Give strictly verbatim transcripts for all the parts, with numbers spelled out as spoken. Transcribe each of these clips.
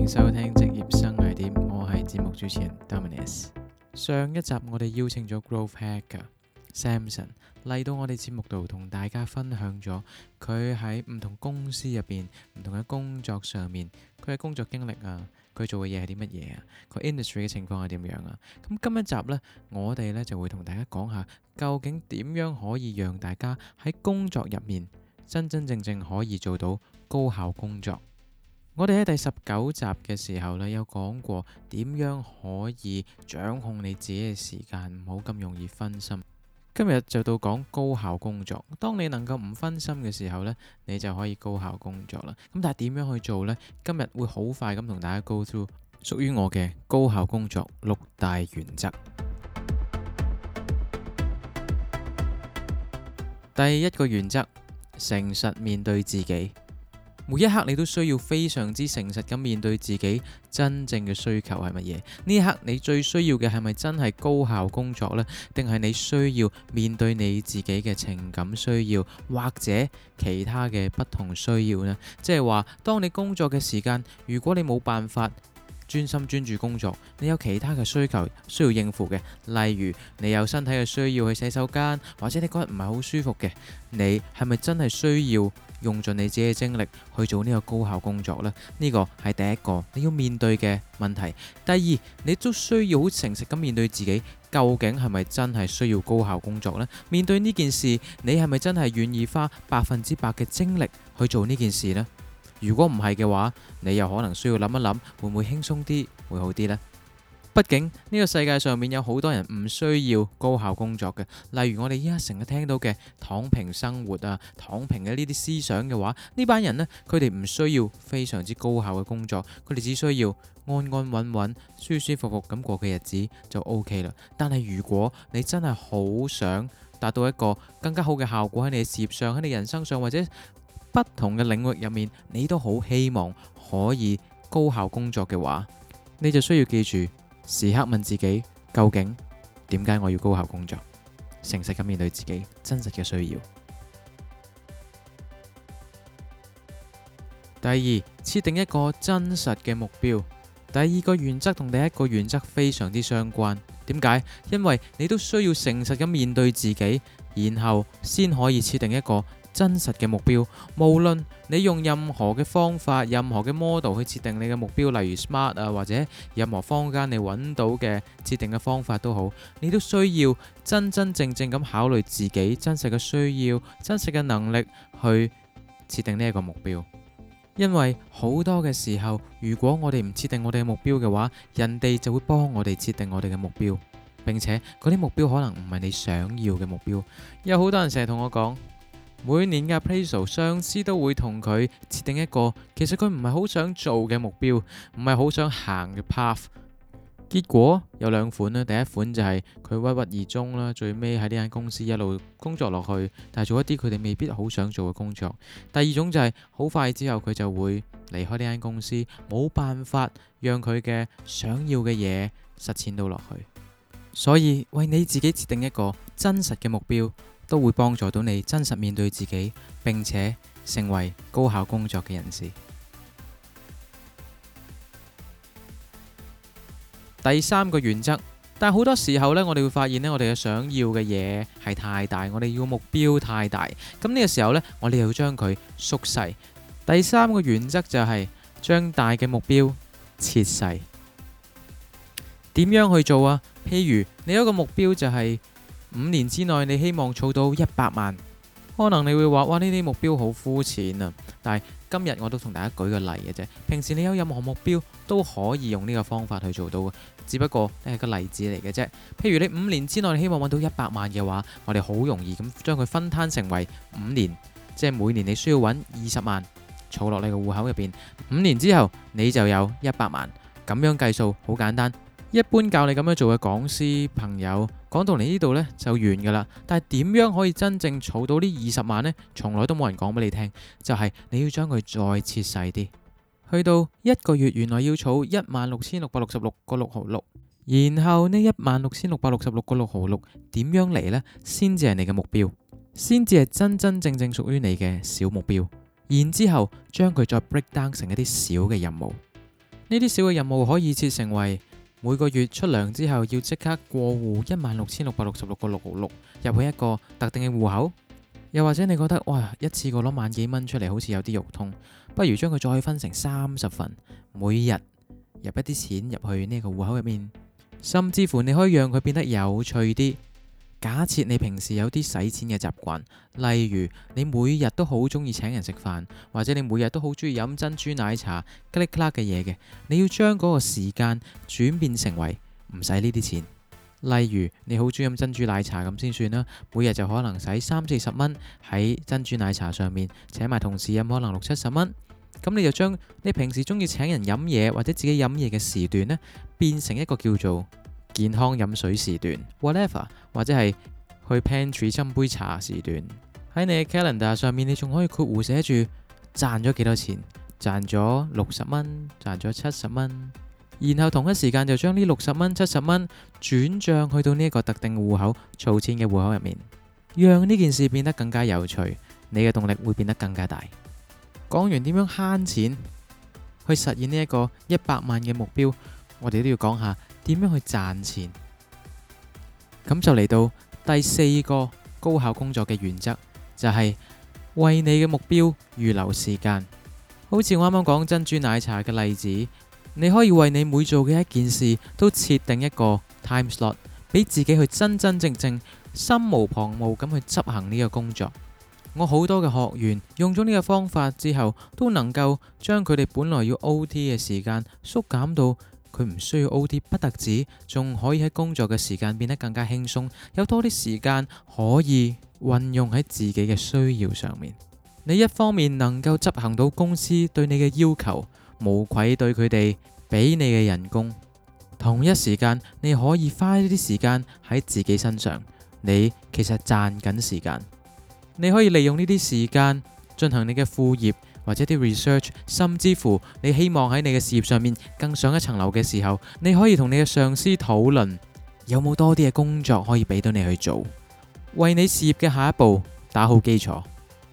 迎收聽職業生涯點，我係節目主持人 Dominus。上一集我哋邀請咗 Growth Hacker Samson 嚟到我哋節目度，同大家分享咗佢喺唔同公司入邊、唔同嘅工作上面，佢嘅工作經歷啊，佢做嘅嘢係啲乜嘢啊，佢 industry 嘅情況係點樣啊。咁今一集呢，我哋呢就會同大家講下，究竟點樣可以讓大家喺工作入面真真正正可以做到高效工作。我哋喺第十九集嘅時候呢，有講過點樣可以掌控你自己嘅時間，唔好咁容易分心。今日就到講高效工作。當你能夠唔分心嘅時候呢，你就可以高效工作啦。咁但係點樣去做呢？今日會好快咁同大家 go through 屬於我嘅高效工作六大原則。第一個原則，誠實面對自己。每一刻你都需要非常之誠實咁面對自己真正嘅需求係乜嘢？呢一刻你最需要嘅係咪真係高效工作呢？定係你需要面對你自己嘅情感需要，或者其他嘅不同需要呢？即係話，當你工作嘅時間，如果你冇辦法專心專注工作，你有其他嘅需求需要應付嘅，例如你有身體嘅需要去洗手間，或者你嗰日唔係好舒服嘅，你係咪真係需要用盡你自己嘅精力去做呢個高效工作呢？呢個係第一個你要面對嘅問題。第二，你都需要好誠實咁面對自己，究竟係咪真係需要高效工作呢？面對呢件事，你係咪真係願意花百分之百嘅精力去做呢件事呢？如果唔係嘅話，你又可能需要諗一諗，會唔會輕鬆啲會好啲呢？畢竟呢個世界上面有好多人唔需要高效工作嘅，例如我哋依家成日聽到嘅躺平生活啊、躺平嘅呢啲思想嘅話，呢班人呢，佢哋唔需要非常之高效嘅工作，佢哋只需要安安穩穩、舒舒服服咁過嘅日子就 OK 啦。但係如果你真係好想達到一個更加好嘅效果喺你嘅事業上、喺你人生上，或者不同嘅領域入面，你都好希望可以高效工作嘅話，你就需要記住時刻問自己，究竟點解我要高效工作？誠實咁面對自己真實嘅需要。第二，設定一個真實嘅目標。第二個原則同第一個原則非常之相關。點解？因為你都需要誠實咁面對自己，然後先可以設定一個真實嘅目標。無論你用任何嘅方法、任何嘅 model 去設定你嘅目標，例如 SMART 啊，或者任何坊間你揾到嘅設定嘅方法都好，你都需要真真正正咁考慮自己真實嘅需要、真實嘅能力去設定呢一個目標。因為好多嘅時候，如果我哋唔設定我哋嘅目標嘅話，人哋就會幫我哋設定我哋嘅目標，並且嗰啲目標可能唔係你想要嘅目標。有好多人成日同我講，每年嘅 appraisal， 上司都會同佢設定一個其實佢唔係好想做嘅目標，唔係好想行嘅 path。結果有兩款啦，第一款就係佢鬱鬱而終啦，最尾喺呢間公司一路工作落去，但係做一啲佢哋未必好想做嘅工作。第二種就係好快之後佢就會離開呢間公司，冇辦法讓佢嘅想要嘅嘢實踐到落去。所以為你自己設定一個真實嘅目標，都會幫助到你真實面對自己，並且成為高效工作嘅人士。第三個原則，但係好多時候呢，我哋會發現呢，我哋嘅想要嘅嘢係太大，我哋要目標太大，咁呢個時候呢，我哋又要將佢縮細。第三個原則就係將大嘅目標切細。點樣去做啊？譬如你有一個目標就係五年之內你希望儲到一百萬，可能你會話哇，呢啲目標好膚淺啊！但係今日我都同大家舉個例嘅啫。平時你有任何目標都可以用呢個方法去做到嘅，只不過係個例子嚟嘅啫。譬如你五年之內你希望揾到一百萬嘅話，我哋好容易咁將佢分攤成為五年，即係每年你需要揾二十萬儲落你個戶口入邊，五年之後你就有一百萬。咁樣計數好簡單。一般教你咁樣做嘅講師朋友講到嚟呢度呢就完噶啦，但係點樣可以真正儲到呢二十萬呢？從來都冇人講俾你聽，就係你要將佢再切細啲，去到一個月原來要儲一萬六千六百六十六個六毫六，然後呢一萬六千六百六十六個六毫六點樣嚟呢？先至係你嘅目標，先至係真真正正屬於你嘅小目標，然之後將佢再 break down 成一啲小嘅任務。 呢啲小嘅任務可以設成為每個月出糧之後要即刻過戶一萬六千六百六十六個六毫六入去一個特定嘅戶口，又或者你覺得哇一次過攞萬幾蚊出嚟好似有啲肉痛，不如將佢再分成三十份，每日入一啲錢入去呢個戶口入面，甚至乎你可以讓佢變得有趣啲。假設你平時有啲使錢嘅習慣，例如你每日都好中意請人食飯，或者你每日都好中意飲珍珠奶茶、吉力克嘅嘢嘅，你要將嗰個時間轉變成為唔使呢啲錢。例如你好中意飲珍珠奶茶咁先算啦，每日就可能使三四十蚊喺珍珠奶茶上面，請埋同事飲可能六七十蚊。咁你就將你平時中意請人飲嘢或者自己飲嘢嘅時段呢，變成一個叫做健康飲水時段 whatever， 或者係去 pantry 斟杯茶時段。喺你嘅 calendar 上面，你仲可以括弧寫住賺咗幾多錢，賺咗六十蚊，賺咗七十蚊，然後同一時間就將呢六十蚊、七十蚊轉賬去到呢一個特定戶口儲錢嘅戶口入面，讓呢件事變得更加有趣，你嘅動力會變得更加大。講完點樣慳錢去實現呢一個一百萬嘅目標，我哋都要講下點樣去賺錢。咁就嚟到第四個高效工作嘅原則，就係為你嘅目標預留時間。好似我啱啱講珍珠奶茶嘅例子，你可以為你每做嘅一件事都設定一個 time slot， 俾自己去真真正正心無旁騖咁去執行呢個工作。我好多嘅學員用咗呢個方法之後，都能夠將佢哋本來要 O T 嘅時間縮減到佢唔需要 O T， 不特止，仲可以喺工作嘅時間變得更加輕鬆，有多啲時間可以運用喺自己嘅需要上面。你一方面能夠執行到公司對你嘅要求，無愧對佢哋俾你嘅人工，同一時間你可以花呢啲時間喺自己身上，你其實賺緊時間。你可以利用呢啲時間進行你嘅副業或者啲 research， 甚至乎你希望喺你嘅事業上面更上一層樓嘅時候，你可以同你嘅上司討論有冇多啲嘅工作可以俾到你去做，為你事業嘅下一步打好基礎。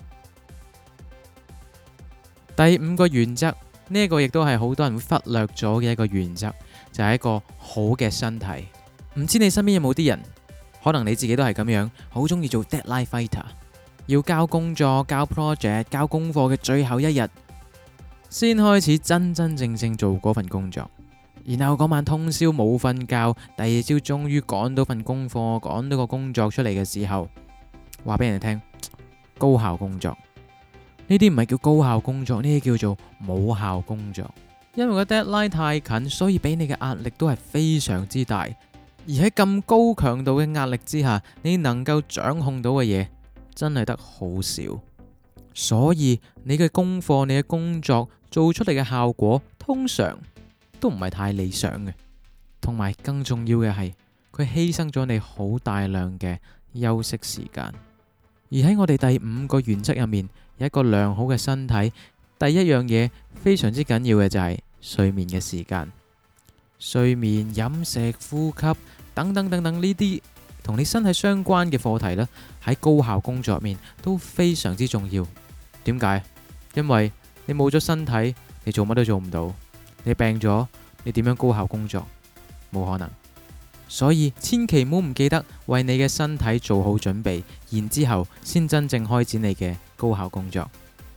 第五個原則，呢一個亦都係好多人會忽略咗嘅一個原則，就係一個好嘅身體。唔知你身邊有冇啲人，可能你自己都係咁樣，好中意做 deadline fighter。要交工作、交 project、交功課嘅最後一日，先開始真真正正做嗰份工作。然後嗰晚通宵冇瞓覺，第二朝終於趕到份功課，趕到個工作出嚟嘅時候，話俾人哋聽，高效工作。呢啲唔係叫高效工作，呢啲叫做冇效工作。因為個 deadline 太近，所以俾你嘅壓力都係非常之大。而喺咁高強度嘅壓力之下，你能夠掌控到嘅嘢真係得好少，所以你嘅功課、你嘅工作做出嚟嘅效果通常都唔係太理想嘅，同埋更重要嘅係佢犧牲咗你好大量嘅休息時間。而喺我哋第五個原則入面，有一個良好嘅身體，第一樣嘢非常之緊要嘅就係睡眠嘅時間。睡眠、飲食、呼吸等等等等呢啲同你身體相關嘅課題呢，喺高效工作入面都非常之重要。點解？因為你冇咗身體，你做乜都做唔到。你病咗，你點樣高效工作？冇可能。所以千祈唔好唔記得為你嘅身體做好準備，然之後先真正開展你嘅高效工作。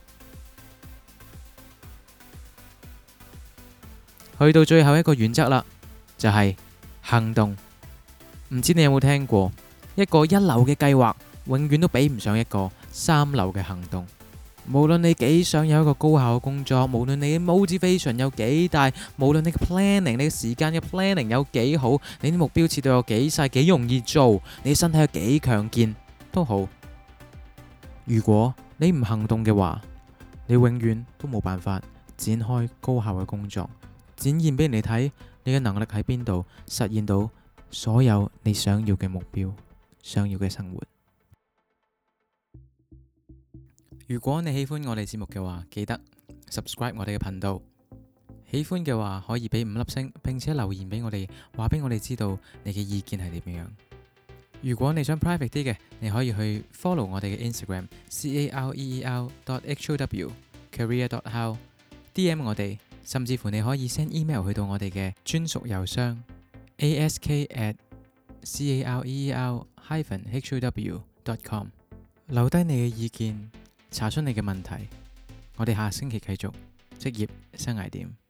去到最後一個原則啦，就係行動。唔知你有冇聽過，一個一流嘅計劃永遠都比唔上一個三流嘅行動。無論你幾想有一個高效嘅工作，無論你嘅 motivation 有幾大，無論你嘅 planning 你嘅時間嘅 planning 有幾好，你啲目標設到有幾細幾容易做，你身體有幾強健都好，如果你唔行動嘅話，你永遠都冇辦法展開高效嘅工作，展現俾人哋睇你嘅能力喺邊度，實現到所有你想要嘅目標，想要嘅生活。如果你喜歡我哋節目嘅話，記得 subscribe 我哋嘅頻道。喜歡嘅話可以俾五粒星，並且留言俾我哋，話俾我哋知道你嘅意見係點樣。如果你想 private 啲嘅，你可以去 follow 我哋嘅 Instagram career dot how career dot how D M 我哋甚至乎你可以 send email 去到我哋嘅專屬郵箱 ask at career hyphen how dot com， 留低你嘅意見，查詢你嘅問題。我哋下星期繼續職業生涯點。